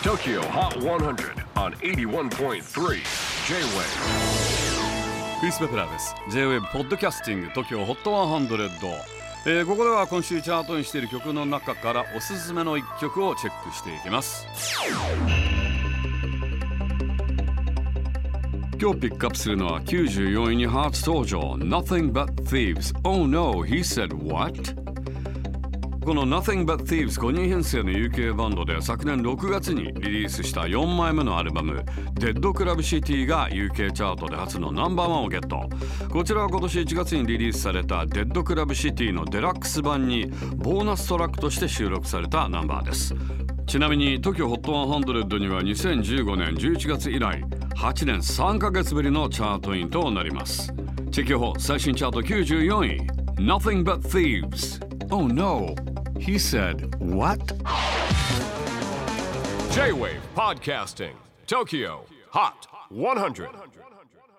TOKYO HOT 100 on 81.3 J-WAVE クリス・ベプラーです。 J-WAVE ポッドキャスティング TOKYO HOT 100、ここでは今週チャートにしている曲の中からおすすめの一曲をチェックしていきます。今日ピックアップするのは94位に初登場 Nothing But Thieves Oh No He Said What?この Nothing But Thieves 5人編成の UK バンドで昨年6月にリリースした4枚目のアルバム Dead Club City が UK チャートで初のナンバーワンをゲット。こちらは今年1月にリリースされた Dead Club City のデラックス版にボーナストラックとして収録されたナンバーです。ちなみに TOKYO HOT 100には2015年11月以来8年3ヶ月ぶりのチャートインとなります。チェキホ最新チャート94位 Nothing But Thieves Oh No He said, what? J-WAVE PODCASTING TOKYO HOT 100